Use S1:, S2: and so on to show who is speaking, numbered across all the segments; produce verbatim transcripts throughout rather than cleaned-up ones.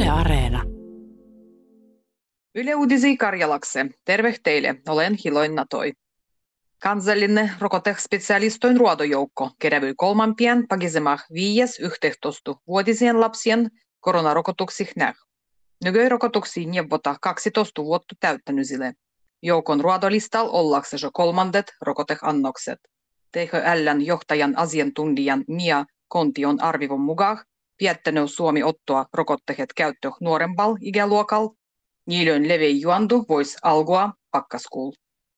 S1: Yle Areena.
S2: Yle Uutisia Karjalakse. Terve teille, olen Hiloina Toi. Kansallinen rokotespesialistoin ruodojoukko kerävyi kolmampien pagisemah viies yhteentoista vuotisien lapsien koronarokotuksih näh. Nykyi rokotuksiin neuvota kaksitoista vuotta täyttänyisille. Joukon ruodolistalla ollakseen jo kolmandet rokoteannokset. T H L:n johtajan asiantuntijan Mia Kontion arvivon mukaan piettänyt Suomi ottoa rokotteet käyttö nuorempal ikäluokal. Niilön levei juondu vois algua pakkaskuul.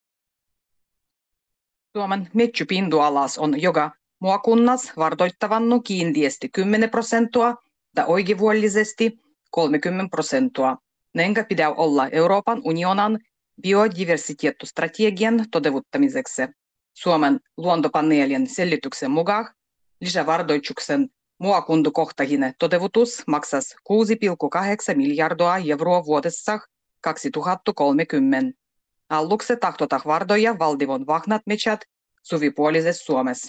S2: Suomen metsäpinta-alas on joka maakunnas vartoittavannu kiintiesti kymmenen prosenttia ja oikeivuollisesti kolmekymmentä prosenttia. Nenkä pitää olla Euroopan unionan biodiversiteettistrategian toteuttamiseksi. Suomen luontopaneelin selityksen mukaan lisävardoituksen maakuntakohtainen toteutus maksas kuusi pilkku kahdeksan miljardia euroa vuodessa kaksituhattakolmekymmentä. Aluksi tahtotaan vardoja valtion vahnat metsät suvipuolisessa Suomessa.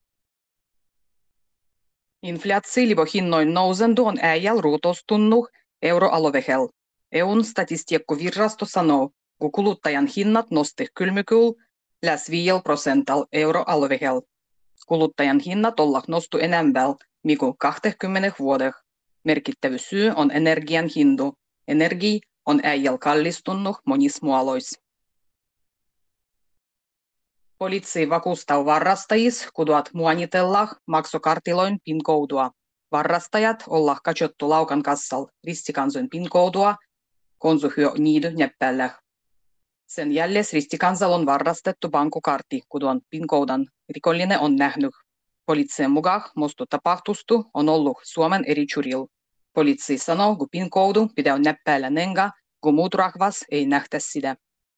S2: Inflaatio-hinnoin nousendu on äijäl ruutostunnu euroalueella. E U:n statistiikkavirasto sanoo, kun kuluttajan hinnat nosti kylmykyl lähes viidellä prosentalla euroalueella. Kuluttajan hinnat olla nostu enemmän mikä kaksikymmentä vuodessa. Merkittävä syy on energian hindu. Energia on äijäl kallistunut monissa muodoissa. Poliisi vakuustaa varrastajis, kuduat muonitellaan maksokartiloin PIN-koodua. Varrastajat olla katsottu laukan kassal ristikansoin PIN-koodua, konsuhyö niidy näppäillä. Sen jälles ristikansal on varrastettu bankukartti, kuduan PIN-koodan rikollinen on nähnyt. Poliisin mukaan mustu tapahtustu on ollut Suomen eri churil. Poliisi sanoo, kun PIN-koodu pitää näppäillä nenga, kun muut rahvas ei nähtä sitä.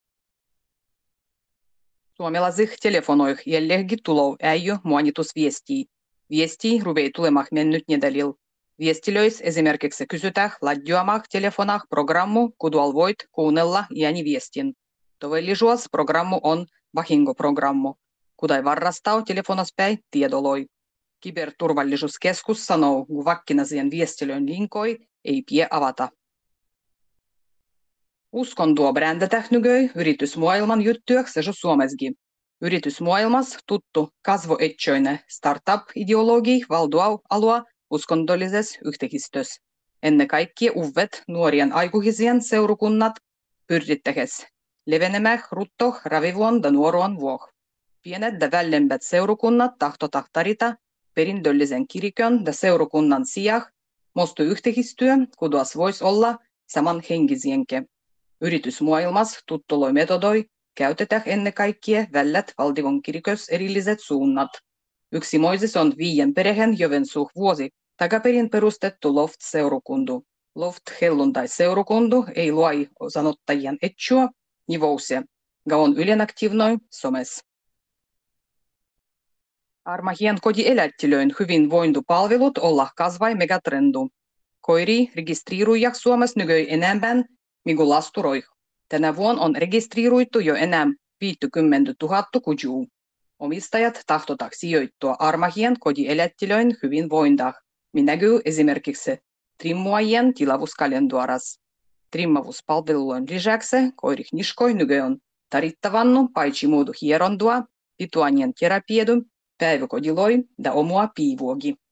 S2: Suomalaisih telefonoih jälleenkin tulou äijy muonitusviestiä. Viesti ruvei tulemah mennyt nedalil. Viestilöis esimerkiksi kysytään ladjuamah telefonah programmu, kudual voit kuunnella ääniviestin. Todellisuus programmu on vahingoprogrammu, kudai varrastau telefonaspäin tiedoloi. Kyberturvallisuuskeskus sanoo, kun vakkinasien viestilöön linkoi ei pie avata. Uskontoa brändätään nykyi yritysmaailman juttujaksi jo Suomessakin. Yritysmaailmassa tuttu kasvoetsoinen startup-ideologi valdoa alua uskondollisessa yhteisössä. Ennen kaikkea uudet nuorien aikuisien seurakunnat pyrittähes levenemään rutto ravivuon ja nuoruon vuoh. Pienet ja vällempät seurakunnat tahtotaan tarita perintöllisen kirkon ja seurakunnan sijaan mustu yhteistyö, kuduas voisi olla samanhenkisienke. Yritysmaailmassa tuttuloi metodoi käytetään ennen kaikkea vällät valtion kirkos erilliset suunnat. Yksi moises on viien perheen Jovensuh vuosi takaperin perustettu Loft-seurakundu. Loft-helluntai-seurakundu ei luoi osanottajien etsua nivousia, ga on ylenaktiivnoi somes. Armahien kotielättilöin hyvinvointipalvelut olla kasvai megatrendu. Koiri registriiruja Suomessa nykyi enemmän mikä lasturoih. Tänä vuonna on registriiruittu jo enää viisikymmentätuhatta kujuu. Omistajat tahtotaan sijoittua armahien kotielättilöin hyvinvointaan, minäkyy esimerkiksi trimmuajien tilavuuskalentuaras. Trimmavuuspalvelujen lisäksi koirih niskoi nyky on tarittavannu paitsi muudu hierondua, pituanien terapiedum, päiväkodiloi ja omua piivuogi.